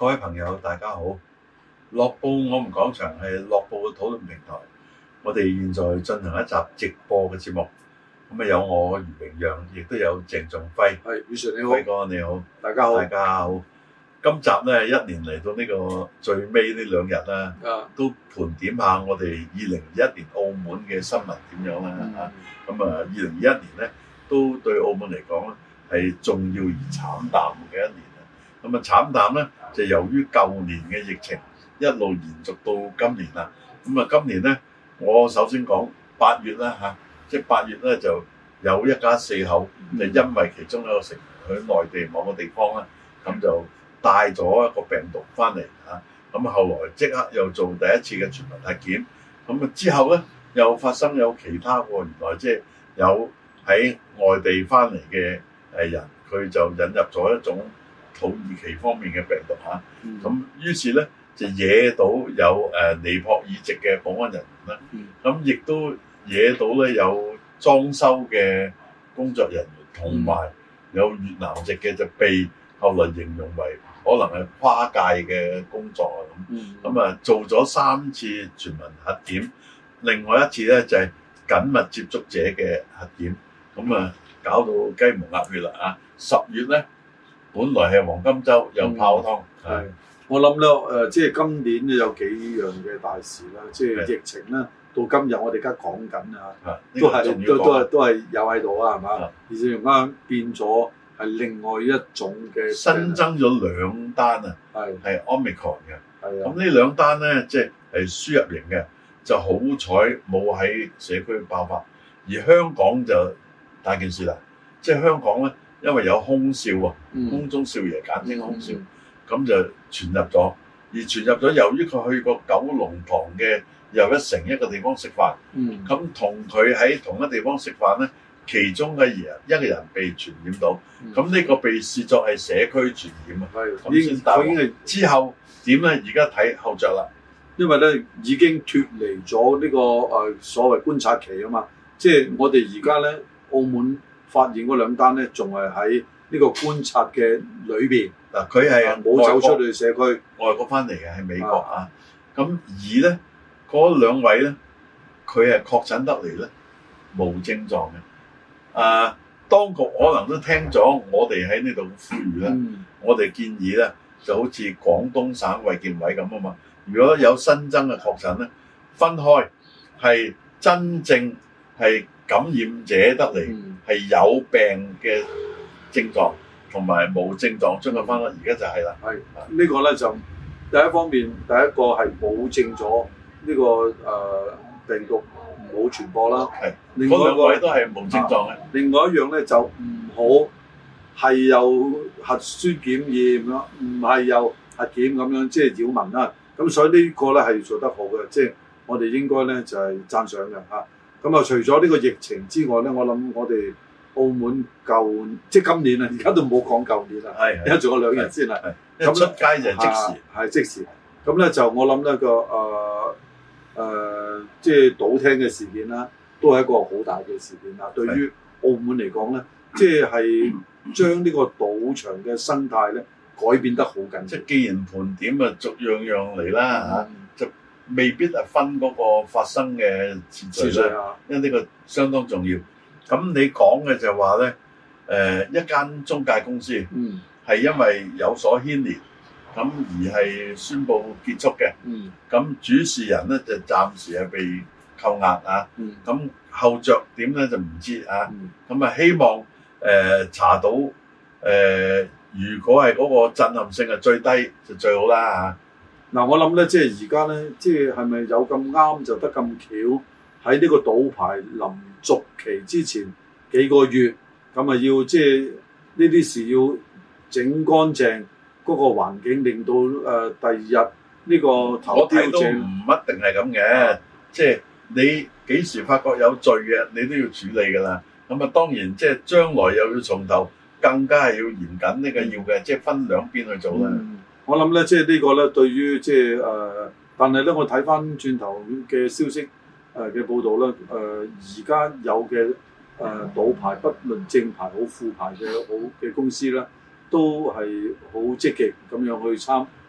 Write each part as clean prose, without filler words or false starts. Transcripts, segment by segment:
各位朋友，大家好！樂報我們講場係樂報嘅討論平台，我哋現在進行一集直播嘅節目。咁啊，有我余榮陽，亦都有鄭仲輝。 係，宇順你好， 輝哥你好， 大家好， 大家好。今集咧，一年嚟到呢個最尾呢兩日啦，都盤點下我哋2021年澳門嘅新聞點樣啦。咁2021年咧，都對澳門嚟講咧係重要而慘淡嘅一年。咁啊慘淡咧，就由於舊年嘅疫情一路延續到今年啦。咁啊今年咧，我首先講8月啦嚇，即係8月咧就有一家4口，就因為其中一個成員去內地某個地方啦，咁就帶咗一個病毒翻嚟嚇。咁後來即刻又做第一次嘅全民核檢。咁啊之後咧又發生有其他喎，原來即係有喺外地翻嚟嘅人，佢就引入咗一種土耳其方面嘅病毒嚇，咁於是咧就惹到有尼泊爾籍嘅保安人員啦，咁亦都惹到咧有裝修嘅工作人員，同埋有越南籍嘅就被後來形容為可能係跨界嘅工作啊咁，咁啊做咗3次全民核檢，另外一次咧就係緊密接觸者嘅核檢，咁啊搞到雞毛鴨血啦啊！10月咧。本來係黃金週又泡湯， 係我諗咧即係今年都有幾樣嘅大事啦，即係疫情啦，到今日我哋而家講緊啊，都係有喺度啊，係嘛？而且而家變咗係另外一種嘅新增咗2單啊，係 Omicron 嘅，咁呢2單咧即係輸入型嘅，就好彩冇喺社區爆發，而香港就大件事啦，即係香港咧。因為有空少啊，空中少爺簡稱空少，咁就傳入咗。而傳入咗，由於佢去過九龍塘嘅又一城一個地方食飯，咁同佢喺同一地方食飯咧，其中嘅一個人被傳染到，咁呢個被視作係社區傳染啊。咁先大鑊。之後點咧？而家睇後著啦。 因為咧已經脫離咗呢個所謂觀察期啊嘛，即係我哋而家咧澳門。發現嗰2單咧，仲係喺呢個觀察嘅裏邊。嗱，佢係冇走出去社區， 外國翻嚟嘅係美國啊。咁而咧嗰2位咧，佢係確診得嚟咧無症狀嘅。當局可能都聽咗我哋喺呢度呼籲啦。我哋建議咧就好似廣東省衛健委咁啊嘛。如果有新增嘅確診咧，分開係真正係感染者得嚟。係有病嘅症狀同埋冇症狀將佢分開，而家就係啦。係呢個咧就第一方面，第一個係保證咗呢個病毒唔好傳播啦。係，另外2位都係冇症狀嘅。 另外一樣咧就唔好係有核酸檢驗啦，唔係有核檢咁樣，即係擾民啦。咁所以呢個咧係做得好嘅，即係我哋應該咧就係讚賞嘅嚇。咁啊，除咗呢個疫情之外咧，我諗我哋澳門即係今年啊，而家都冇講舊年啦，而家仲有2日先啦。 咁出街就即時， 係即時。咁咧就我諗咧即係賭廳嘅事件啦，都係一個好大嘅事件啦。對於澳門嚟講咧，即係將呢個賭場嘅生態咧改變得好緊。 即係既然盤點啊，逐樣嚟啦嚇，就未必係分嗰個發生嘅次序啦，因為呢個相當重要。咁你講嘅就話咧，一間中介公司係因為有所牽連，咁而係宣布結束嘅。咁主事人咧就暫時係被扣押啊。咁後著點咧就唔知啊。咁啊希望查到如果係嗰個震撼性係最低就最好啦嚇。 嗱，我諗咧，即係而家咧，即係咪有咁啱就得咁巧喺呢個賭牌臨續期之前幾個月，咁啊要即係呢啲事要整乾淨嗰個環境，令到第2日呢個頭標都唔一定係咁嘅，即係你幾時發覺有罪嘅，你都要處理㗎啦。咁啊當然即係將來又要從頭，更加係要嚴謹呢個要嘅，即係分2邊去做啦。 我諗咧，即係呢個咧，對於即係但係咧，我睇翻轉頭嘅消息嘅報導咧，而家有嘅賭牌，不論正牌好副牌嘅好嘅公司咧，都係好積極咁樣去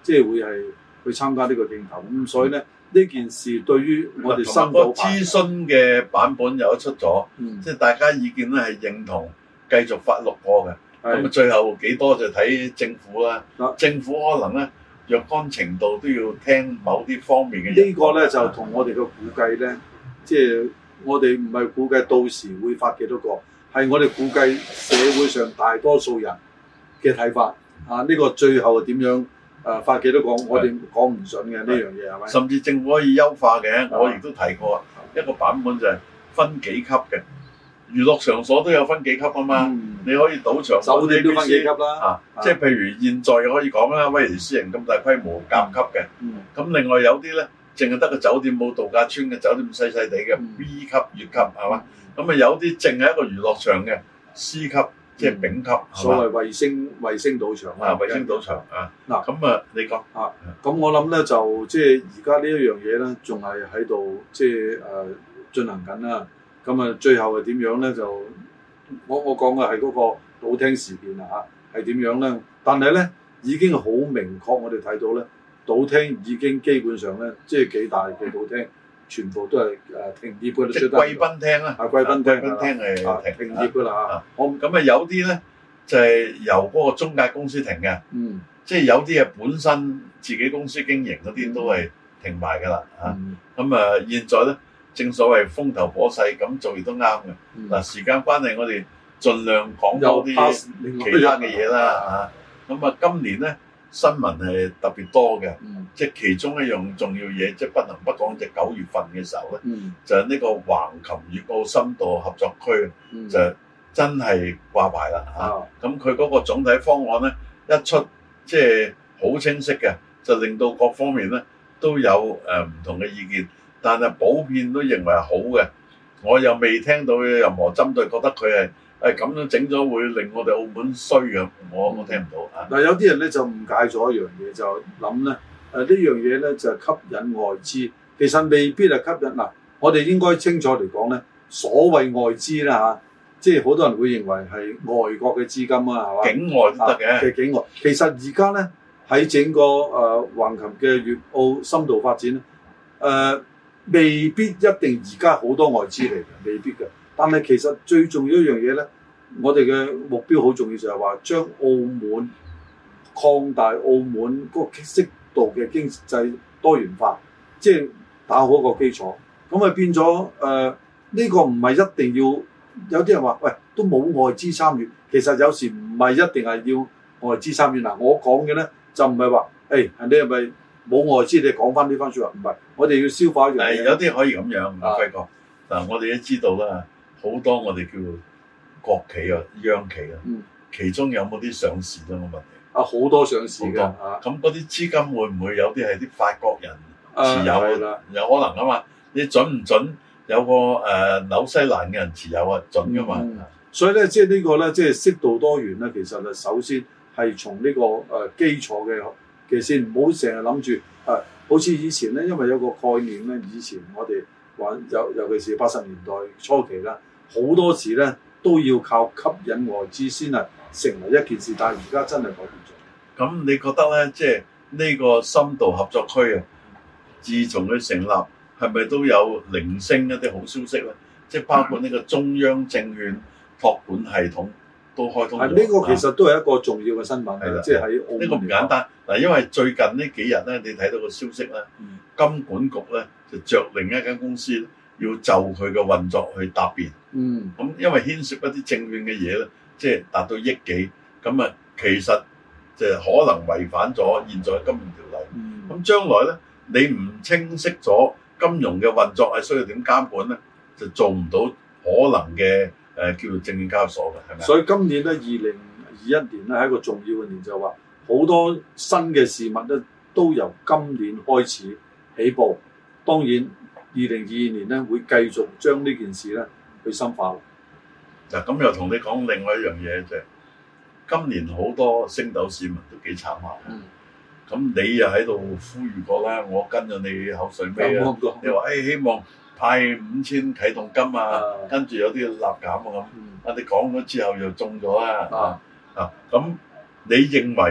即係會係去參加呢個競投。咁所以咧呢件事對於我哋新島諮詢嘅版本有出咗，即係大家意見咧係認同繼續發6個嘅。咁最後幾多就睇政府啦。政府可能咧若干程度都要聽某啲方面嘅。呢個咧就同我哋嘅估計咧，即係我哋唔係估計到時會發幾多個，係我哋估計社會上大多數人嘅睇法。呢個最後點樣發幾多個，我哋講唔準嘅呢樣嘢係咪？ 甚至政府可以優化嘅，我亦都提過一個版本就係分幾級嘅。娛樂場所都有分幾級啊嘛，你可以賭場酒店都分幾級啦， 即係譬如現在可以講啦，威尼斯人咁大規模甲級嘅，咁另外有啲咧淨係得個酒店冇度假村嘅酒店細細地嘅 B 級、乙級係嘛，咁啊有啲淨係一個娛樂場嘅 C 級，即係丙級， 所謂衛星賭場啊， 衛星賭場啊，嗱咁啊你講咁我諗咧就即係而家呢一樣嘢咧，仲係喺度即係進行緊啦。咁啊，最後係點樣咧？就我講嘅係嗰個賭廳事件啦嚇，係點樣咧？但係咧已經好明確，我哋睇到咧，賭廳已經基本上咧，即係幾大嘅賭廳，全部都係停業嘅。 即係貴賓廳啦， 貴賓廳係停業㗎啦嚇。 咁啊有啲咧就係由嗰個中介公司停嘅，即係有啲係本身自己公司經營嗰啲都係停埋㗎啦嚇。咁啊現在咧。正所謂風頭火勢，咁做亦都啱嘅。嗱，時間關係，我哋盡量講多啲其他嘅嘢啦嚇。咁啊，今年咧新聞係特別多嘅，即係其中一樣重要嘢，即係不能不講，就9月份嘅時候咧，就係呢個橫琴粵澳深度合作區就真係掛牌啦嚇。咁佢嗰個總體方案咧一出，即係好清晰嘅，就令到各方面咧都有唔同嘅意見。但係普遍都認為係好嘅，我又未聽到任何針對，覺得佢係咁樣整咗會令我哋澳門衰嘅，我聽唔到啊！ 嗱，有啲人咧就誤解咗一樣嘢，就諗咧呢樣嘢咧就係吸引外資，其實未必係吸引。嗱，我哋應該清楚嚟講咧，所謂外資啦嚇，即係好多人會認為係外國嘅資金啊，係嘛？ 境外都得嘅。 嘅境外，其實而家咧喺整個橫琴嘅粵澳深度發展咧，未必一定而家好多外資嚟嘅，未必嘅。但係其實最重要一樣嘢咧，我哋嘅目標好重要，就係話將澳門擴大澳門嗰個適度嘅經濟多元化，即係打好個基礎。咁啊變咗呢個唔係一定要，有啲人話喂都冇外資參與，其實有時唔係一定係要外資參與。嗱，我講嘅咧就唔係話你係咪？冇外資，你講翻呢番説話，唔係，我哋要消化一樣嘢。 有啲可以咁樣，輝哥。嗱，我哋都知道啦，好多我哋叫國企啊、央企啊，其中有冇啲上市咧？我問你。 好多上市㗎。 咁嗰啲資金會唔會有啲係啲法國人持有？有可能啊嘛。你準唔準？有個紐西蘭嘅人持有啊，準㗎嘛。 所以咧，即係呢個咧，即係適度多元咧，其實係首先係從呢個基礎嘅先，唔好成日諗住好似以前咧，因為有個概念咧，以前我哋玩尤其是80年代初期啦，好多時咧都要靠吸引外資先係成為一件事，但係而家真係改變咗。 咁你覺得咧，即係呢個深度合作區啊，自從佢成立，係咪都有零星一啲好消息咧？即係包括呢個中央證券託管系統都開通咗。 呢個其實都係一個重要嘅新聞，即係喺澳門。 呢個唔簡單嗱，因為最近呢幾日咧，你睇到個消息咧，金管局咧就着另一間公司要就佢嘅運作去答辯。咁因為牽涉一啲證券嘅嘢咧，即係達到億幾，咁啊其實就可能違反咗現在金融條例。咁將來咧，你唔清晰咗金融嘅運作係需要點監管咧，就做唔到可能嘅叫做證券交易所嘅，係咪？ 所以今年咧2021年咧係一個重要嘅年，就話好多新嘅事物咧都由今年開始起步。當然2022年咧會繼續將呢件事咧去深化。 嗱，咁又同你講另外一樣嘢，就係今年好多星斗市民都幾慘下。咁你又喺度呼籲過啦，我跟咗你口水尾啊！你話希望派5000啟動金啊，跟住有啲立減啊咁。你講咗之後又中咗啦。咁你認為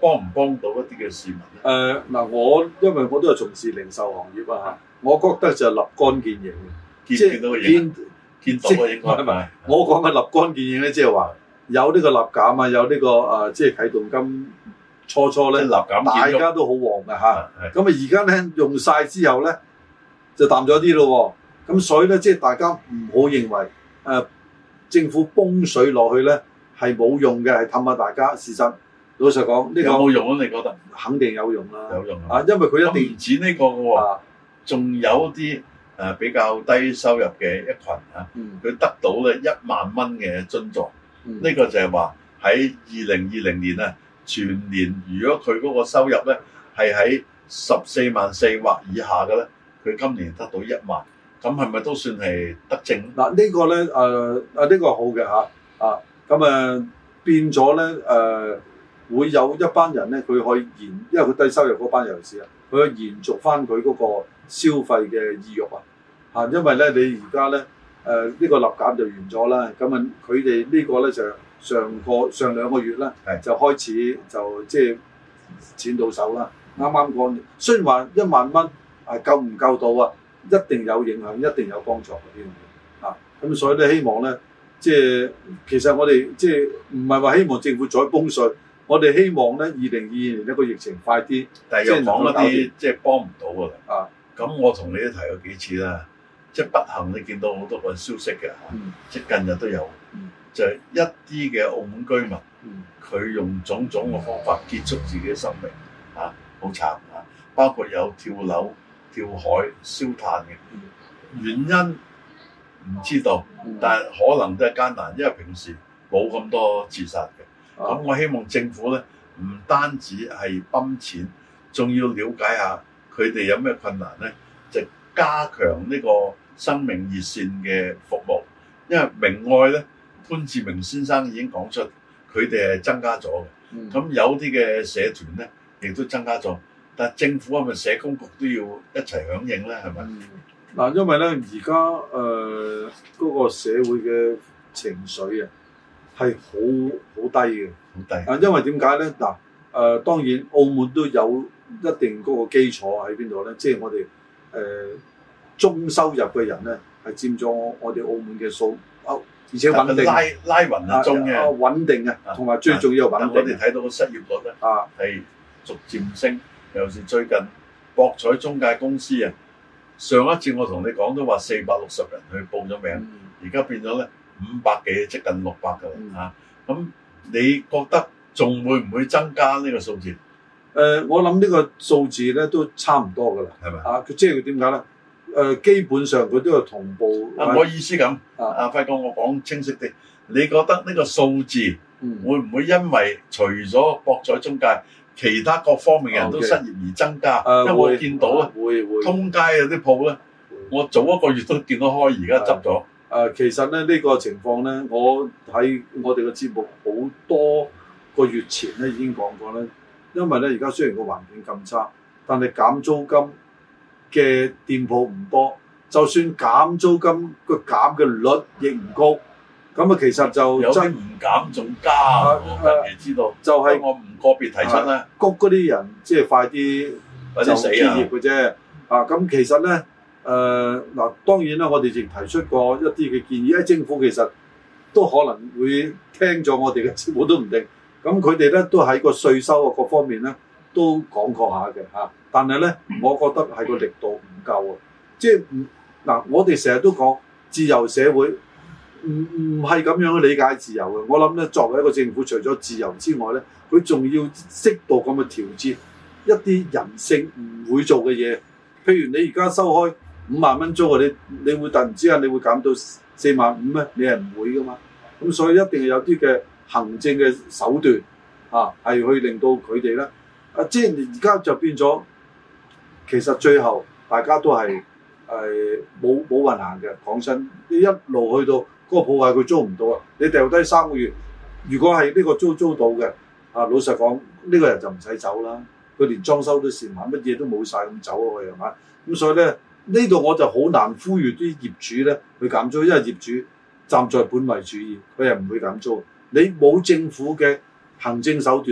幫唔幫到一啲嘅市民咧？ 我因為我都係從事零售行業啊，我覺得就立竿見影嘅， 見到嘅影，見到嘅應該係咪？ 我講嘅立竿見影咧，即係話有呢個立減啊，有呢個即係啟動金初咧，大家都好旺嘅嚇。咁啊而家咧用晒之後咧就淡咗啲咯喎。咁所以咧即係大家唔好認為政府泵水落去咧係冇用嘅，係氹下大家。事實老實講，呢個有冇用啊？你覺得？ 肯定有用啦， 有用啊！因為佢一定唔止呢個嘅喎，仲有啲比較低收入嘅一群佢得到咧1萬蚊嘅津助。呢個就係話喺2020年啊，全年如果佢嗰個收入咧係喺14萬4或以下嘅咧，佢今年得到1萬，咁係咪都算係得正？ 嗱呢個咧呢個好嘅嚇咁變咗咧會有一班人咧，佢可以因為佢低收入嗰班尤其是佢可以延續翻佢嗰個消費嘅意欲因為咧你而家咧呢個立減就完咗啦，咁佢哋呢個咧就上2個月咧就開始就即係錢到手啦，啱啱講，雖然話1萬蚊夠唔夠到一定有影響，一定有幫助嘅呢樣嘢咁所以咧希望咧即係其實我哋即係唔係話希望政府再泵水。我哋希望咧，2022年一個疫情快啲， 但係又講一啲即係幫唔到㗎啦。咁我同你都提過幾次啦，即係不幸你見到好多個消息嘅即係近日都有，就係一啲嘅澳門居民，佢用種種嘅方法結束自己嘅生命，好慘包括有跳樓、跳海、燒炭嘅原因唔知道，但係可能都係艱難，因為平時冇咁多自殺嘅。咁我希望政府咧唔單止係泵錢，仲要了解下佢哋有咩困難咧，就加強呢個生命熱線嘅服務。因為明愛咧，潘志明先生已經講出，佢哋係增加咗嘅。咁有啲嘅社團咧，亦都增加咗。但係政府係咪社工局都要一齊響應咧？係咪？ 因為咧而家嗰個社會嘅情緒係好低嘅， 好低。 因為點解咧？當然澳門都有一定嗰個基礎喺邊度咧？即係我哋中收入嘅人咧，係佔咗我哋澳門嘅數，而且穩定。拉勻係中嘅， 穩定啊，同埋最重要係穩定。 我哋睇到個失業率咧，係逐漸升。尤其是最近博彩中介公司上一次我同你講都話460人去報咗名，而家變咗咧。500幾，接近600㗎啦咁你覺得仲會唔會增加呢個數字？ 我諗呢個數字咧都差唔多㗎啦，係咪？即係佢點解咧？基本上佢都有同步。 我意思咁，輝哥，我講清晰啲，你覺得呢個數字會唔會因為除咗博彩中介，其他各方面嘅人都失業而增加？因為我見到咧，會通街有啲鋪咧，我早1個月都見到開，而家執咗。 其實咧呢個情況咧，我喺我哋嘅節目好多個月前咧已經講過咧。因為咧而家雖然個環境咁差，但係減租金嘅店鋪唔多，就算減租金個減嘅率亦唔高。咁其實就有啲唔減仲加，我近期知道。就係我唔個別提出咧， 谷嗰啲人即係快啲就結業嘅啫。咁其實咧。當然啦，我哋亦提出過一啲嘅建議，政府其實都可能會聽咗我哋嘅節目都唔定。咁佢哋咧都喺個稅收各方面咧都講過下嘅但係咧，我覺得係個力度唔夠啊。即係我哋成日都講自由社會，唔係咁樣去理解自由嘅。我諗咧，作為一個政府，除咗自由之外咧，佢仲要適度咁去調節一啲人性唔會做嘅嘢。譬如你而家收開5萬蚊租你會突然之間你會減到4萬5咩？你係唔會噶嘛？咁所以一定係有啲嘅行政嘅手段係去令到佢哋咧即係而家就變咗，其實最後大家都係冇運行嘅。講真，你一路去到嗰個鋪位佢租唔到你掉低3個月，如果係呢個租到嘅老實講呢個人就唔使走啦。佢連裝修都蝕埋，乜嘢都冇晒咁走啊！係嘛？咁所以咧呢度我就好難呼籲啲業主咧去減租，因為業主站在本位主義，佢係唔會減租。你冇政府嘅行政手段咧，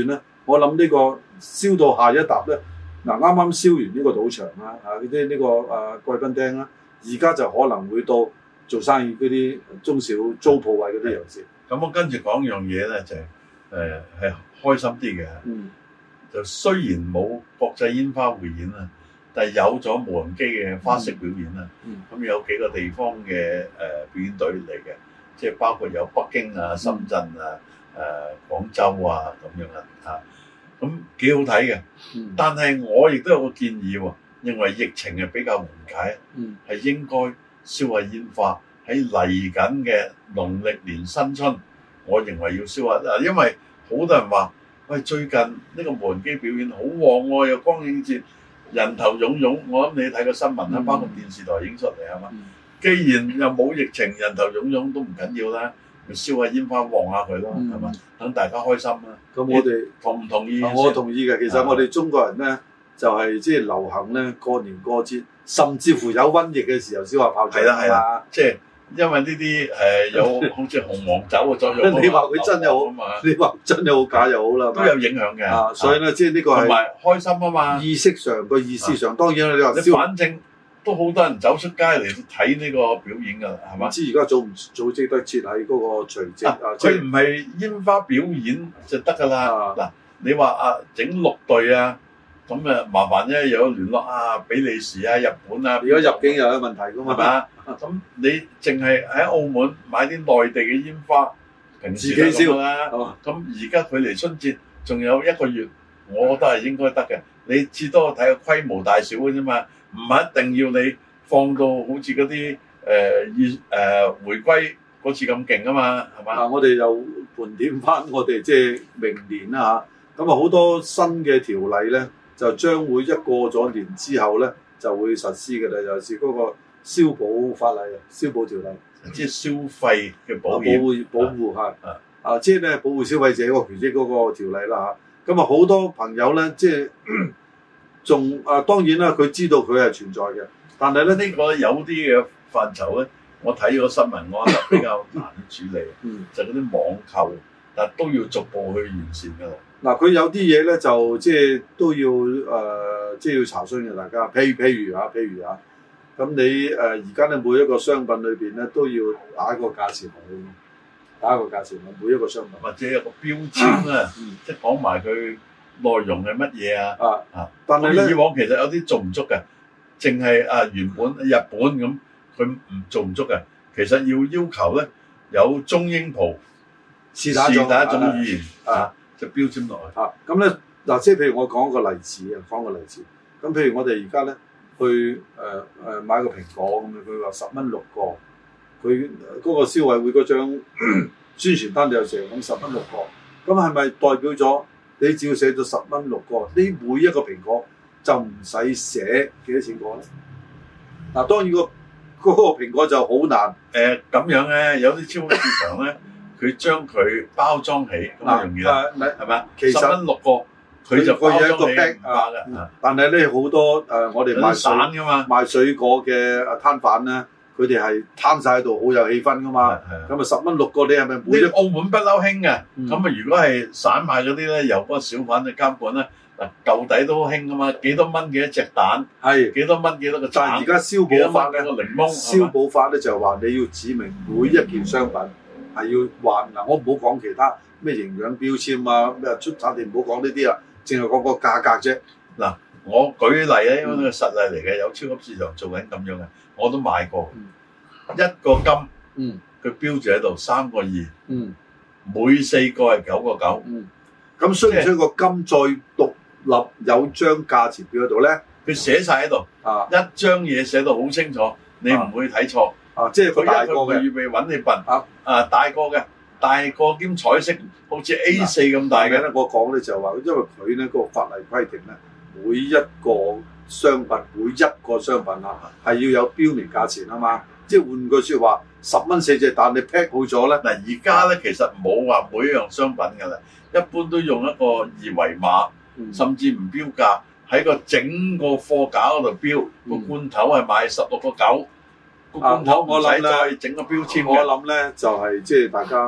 我諗呢個燒到下一沓咧，嗱啱啱燒完呢個賭場啦，呢個貴賓廳啦，而家就可能會到做生意嗰啲中小租鋪位嗰啲遊先。 咁我跟住講樣嘢咧，就係開心啲嘅。就雖然冇國際煙花匯演啊，但係有咗無人機嘅花式表演啊。咁有幾個地方嘅表演隊嚟嘅，即係包括有北京啊、深圳啊、廣州啊咁樣啊。咁幾好睇嘅。但係我亦都有個建議喎，認為疫情係比較緩解，係應該燒下煙花。喺嚟緊嘅農曆年新春，我認為要燒下嗱，因為好多人話：喂，最近呢個無人機表演好旺喎，有光影節，人頭湧湧。我諗你睇個新聞啦，包括電視台影出嚟係嘛？既然又冇疫情，人頭湧湧都唔緊要啦，咪燒下煙花旺下佢咯，係嘛？等大家開心啦。咁我哋同唔同意？ 我同意嘅。其實我哋中國人咧，就係即係流行咧過年過節，甚至乎有瘟疫嘅時候燒下炮仗。 係啦，即係。因為呢啲有好似紅黃酒嘅作用， 你話佢真又好，你話真又好假又好啦， 都有影響嘅。 所以咧，即係呢個係同埋開心啊嘛。 意識上個意思上，當然啦，你話反正都好多人走出街嚟睇呢個表演㗎啦，係嘛？ 唔知而家組織得設喺嗰個隨即佢唔係煙花表演就得㗎啦。嗱，你話整6隊啊？咁麻煩啫，有聯絡比利時啊、日本啊， 如果入境又有問題㗎嘛，係嘛？ 咁你淨係喺澳門買啲內地嘅煙花，平時自己燒啦。咁而家距離春節仲有1個月，我覺得係應該得嘅。你至多睇個規模大小嘅啫嘛，唔係一定要你放到好似嗰啲回歸嗰次咁勁啊嘛，係嘛？ 我哋又盤點翻我哋即係明年啦嚇，咁好多新嘅條例咧，就將會一過咗年之後咧就會實施嘅啦，尤其是嗰個消保法例啊，消保條例， 即係消費嘅保護嚇，即係咧保護消費者個權益嗰個條例啦嚇。咁好多朋友咧，即係仲當然啦，佢知道佢係存在嘅，但係咧呢個有啲嘅範疇咧，我睇個新聞我覺得比較難處理，就嗰啲網購，但都要逐步去完善㗎啦。 嗱，佢有啲嘢咧就即係都要即係要查詢嘅大家，譬如咁你而家咧每一個商品裏邊咧都要打一個價錢落去，每一個商品或者有個標籤啊，即係講埋佢內容係乜嘢啊。但係咧以往其實有啲做唔足嘅，淨係原本日本咁佢唔做唔足嘅，其實要求咧有中英葡是打一種語言就標籤落去。 咁咧嗱，即係譬如我講個例子。咁譬如我哋而家咧去買個蘋果咁樣，佢話10蚊6個，佢嗰個消委會嗰張宣傳單就成咁10蚊6個，咁係咪代表咗你只要寫咗10蚊6個，呢每一個蘋果就唔使寫幾多錢個咧？嗱，當然嗰個蘋果就好難咁樣咧，有啲超級市場咧，佢將佢包裝起咁容易啦，係咪？其實10蚊6個。佢就有一個 bag 但係咧好多我哋賣水果嘅攤販咧，佢哋係攤晒喺度，好有氣氛噶嘛。咁10蚊6個，你係咪每澳門不嬲興嘅？咁如果係散賣嗰啲咧，由嗰個小販去監管咧，舊底都興噶嘛。幾多蚊幾多隻蛋？幾多蚊幾多個蛋？ 但係而家消保法咧，消保法咧就係話你要指明每一件商品係要話嗱，我唔好講其他咩營養標籤啊，咩出產地唔好講呢啲啊。淨係講個價格啫。 嗱，我舉例咧，因為呢個實例嚟嘅，有超級市場做緊咁樣嘅，我都買過。1個金，佢標住喺度3個2，每4個係9個9。 咁需唔需要個金再獨立有張價錢表喺度咧？ 佢寫晒喺度，一張嘢寫到好清楚，你唔會睇錯。 即係佢大個嘅， 預備揾你笨。大個嘅。大個兼彩色，好似 A4 咁大嘅咧。 我講咧就話，因為佢咧嗰個法例規定咧，每一個商品係要有標明價錢啊嘛。即係換句説話，10蚊4隻蛋，你 pack 好咗咧。嗱，而家咧其實冇話每一樣商品㗎啦，一般都用一個二維碼，甚至唔標價，喺個整個貨架嗰度標。個罐頭係賣16個9，個罐頭唔使再整個標籤嘅。 我諗咧就係即係大家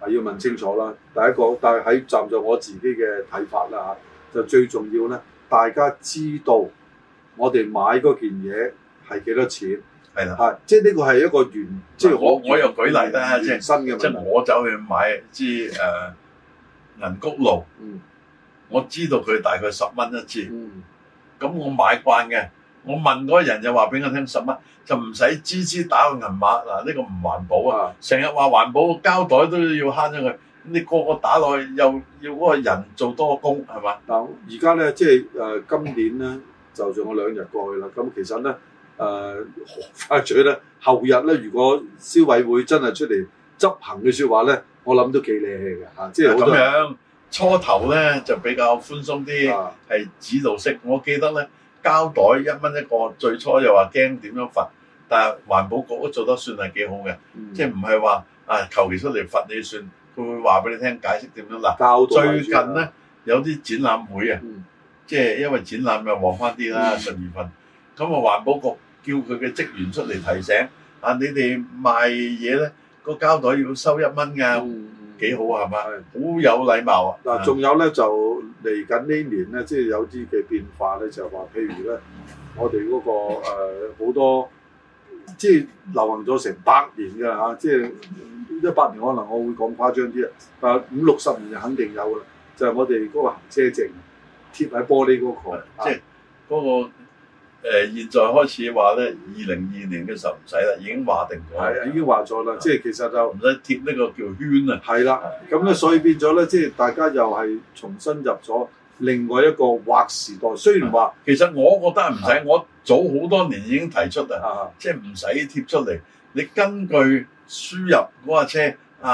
係要問清楚啦。第一個，但係喺站在我自己嘅睇法啦嚇，就最重要咧，大家知道我哋買嗰件嘢係幾多錢。 係啦， 係即係呢個係一個即係我又舉例啦，即係新嘅問題， 即係我走去買支銀菊露，我知道佢大概10蚊一支，咁我買慣嘅，我問嗰個人就話俾我聽10蚊，就唔使支打個銀碼嗱，呢個唔環保啊！成日話環保，膠袋都要慳咗佢，你個個打落去又要嗰個人做多個工係嘛？ 嗱，而家咧即係今年咧就仲有2日過去啦，咁其實咧。快嘴咧，後日咧，如果消委會真係出嚟執行嘅説話咧，我諗都幾理氣嘅嚇，即係好多咁樣初頭咧就比較寬鬆啲，係指導式。我記得咧膠袋1蚊一個，最初又話驚點樣罰，但係環保局都做得算係幾好嘅，即係唔係話求其出嚟罰你算，佢會話俾你聽解釋點樣嗱。最近咧有啲展覽會啊，即係因為展覽又旺翻啲啦，12月，咁環保局叫佢嘅職員出嚟提醒你哋賣嘢咧個膠袋要收1蚊㗎，幾好係嘛？好有禮貌啊！ 嗱，仲有咧就嚟緊呢年咧，即係有啲嘅變化咧，就係話譬如咧，我哋嗰個好多即係流行咗成100年㗎啦嚇，即係100年可能我會講誇張啲啊，但係50、60年就肯定有㗎啦，就係我哋嗰個行車證貼喺玻璃嗰個， 即係嗰個。現在開始話咧，2022年嘅時候唔使啦，已經話定咗。 係已經話咗啦，即係其實就唔使貼呢個叫圈啊。係啦，咁咧所以變咗咧，即係大家又係重新入咗另外一個劃時代。雖然話其實我覺得唔使，我早好多年已經提出啦，即係唔使貼出嚟。你根據輸入嗰架車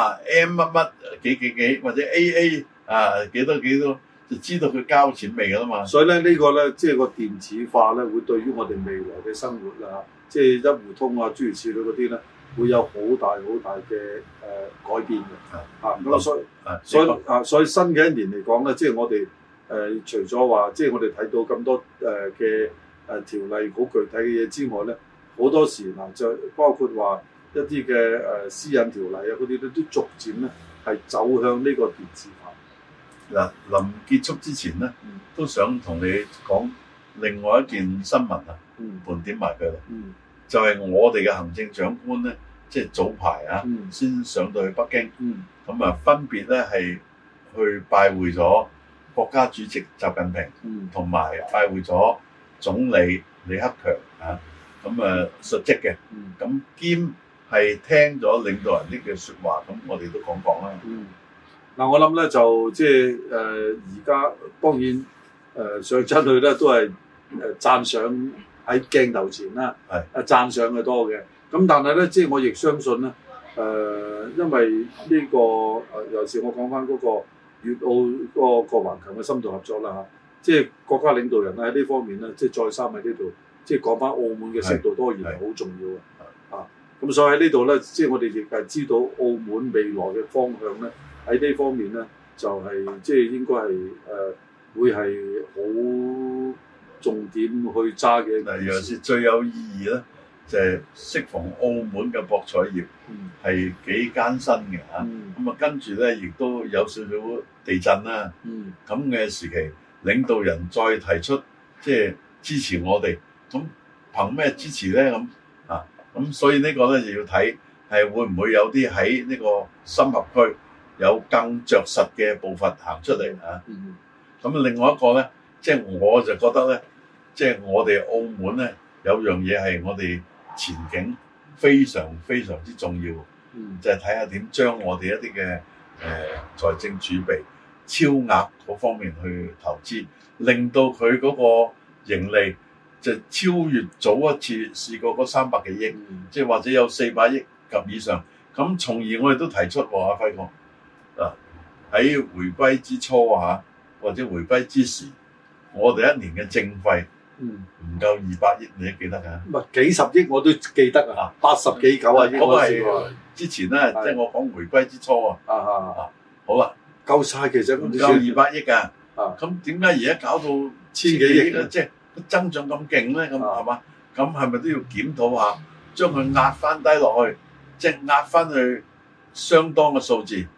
M 乜乜幾或者 AA 幾多。就知道佢交錢未㗎啦嘛， 所以咧呢個咧即係個電子化咧，會對於我哋未來嘅生活即係一戶通諸如此類嗰啲咧，會有好大嘅改變嘅。咁所以新嘅一年嚟講咧，即係我哋除咗話即係我哋睇到咁多嘅條例好具體嘅嘢之外咧，好多時就包括話一啲嘅私隱條例嗰啲都逐漸咧係走向呢個電子化。 嗱，臨結束之前咧，都想同你講另外一件新聞盤點埋佢啦。就係我哋嘅行政長官咧，即係早排先上到去北京，咁分別咧係去拜會咗國家主席習近平，同埋拜會咗總理李克強咁述職嘅，咁兼係聽咗領導人呢句説話，咁我哋都講啦。 嗱，我諗咧就即係而家當然上親去咧都係讚賞喺鏡頭前啦，讚賞嘅多嘅。咁但係咧，即係我亦相信咧，因為呢個尤其是我講翻嗰個粵澳嗰個環球嘅深度合作啦即係國家領導人喺呢方面咧，即係再三喺呢度，即係講翻澳門嘅適度多元係好重要嘅。咁所以喺呢度咧，即係我哋亦係知道澳門未來嘅方向咧。喺呢方面咧，就係即係應該係會係好重點去揸嘅。嗱，尤其是最有意義咧，就係適逢澳門嘅博彩業係幾艱辛嘅咁跟住咧，亦都有少少地震啦。咁嘅時期，領導人再提出即係支持我哋，咁憑咩支持咧？咁所以呢個咧就要睇係會唔會有啲喺呢個深合區。有更着實嘅步伐行出嚟咁另外一個咧，即係我就覺得咧，即係我哋澳門咧有樣嘢係我哋前景非常非常之重要，就係睇下點將我哋一啲嘅財政儲備超額嗰方面去投資，令到佢嗰個盈利就超越早一次試過嗰300幾億，即係或者有400億及以上。咁從而我哋都提出阿輝哥。喺回歸之初或者回歸之時，我哋一年嘅政費唔夠200億，你都記得㗎？唔係幾十億我都記得80幾90億。嗰個係之前咧，即係我講回歸之初好啦，夠晒其實唔夠200億㗎。咁點解而家搞到1000幾億咧？即係增長咁勁咧？咁係嘛？咁係咪都要檢討下，將佢壓翻低落去，即係壓翻去相當嘅數字？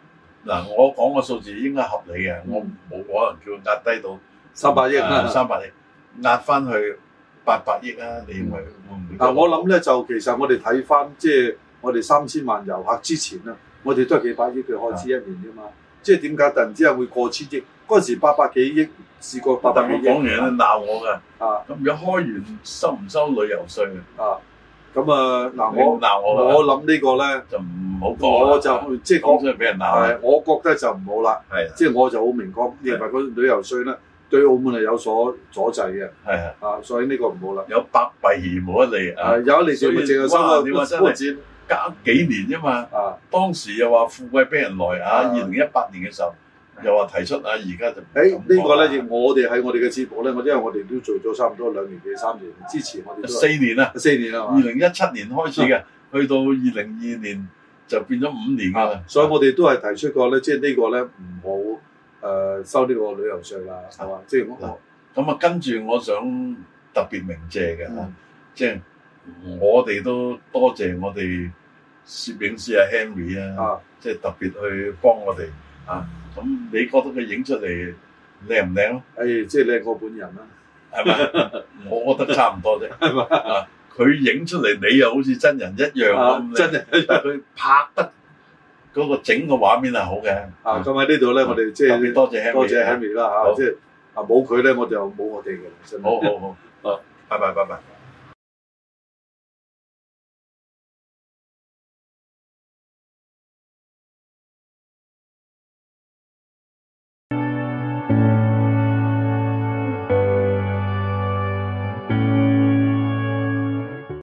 嗱，我講個數字應該合理嘅，我冇可能叫佢壓低到 300億啊 ，300億壓翻去800億啊！你認為會唔會？ 嗱，我諗咧就其實我哋睇翻即係我哋3000萬遊客之前啦，我哋都係幾百億嘅開支一年啫嘛。即係點解突然之間會過千億？嗰陣時800幾億試過800幾億。 講完咧鬧我㗎。 啊， 咁如果開完收唔收旅遊稅啊？咁啊嗱，我諗呢個咧就唔好講， 我就即係講出嚟俾人鬧。我覺得就唔好啦。係，即係我就好明確認為個旅遊稅咧對澳門係有所阻滯嘅。係啊，所以呢個唔好啦。 有百弊而無一利啊！ 有一利就淨係收個寬展， 隔幾年啫嘛。啊，當時又話富貴逼人來啊！2018年嘅時候又話提出啊，而家就呢個咧，我哋喺我哋嘅節目咧，因為我哋都做咗差唔多2年幾3年，之前我哋 4年啦 ，4年啦 ，2017年開始嘅，去到2022年就變咗5年㗎啦。 所以我哋都係提出過咧，即係呢個咧唔好收呢個旅遊稅啦，係嘛？即係咁啊，跟住我想特別鳴謝嘅嚇，即係我哋都多謝我哋攝影師阿 Henry 啊，即係特別去幫我哋啊。咁你覺得佢影出嚟靚唔靚咯？ 即係靚過本人啦， 係咪？我覺得差唔多啫，係嘛？啊，佢影出嚟你又好似真人一樣咁， 真係佢拍得嗰個整個畫面係好嘅。 咁喺呢度咧，我哋即係特別多謝 Henry 啦嚇，即係冇佢咧，我就冇我哋嘅啦。 好，拜拜。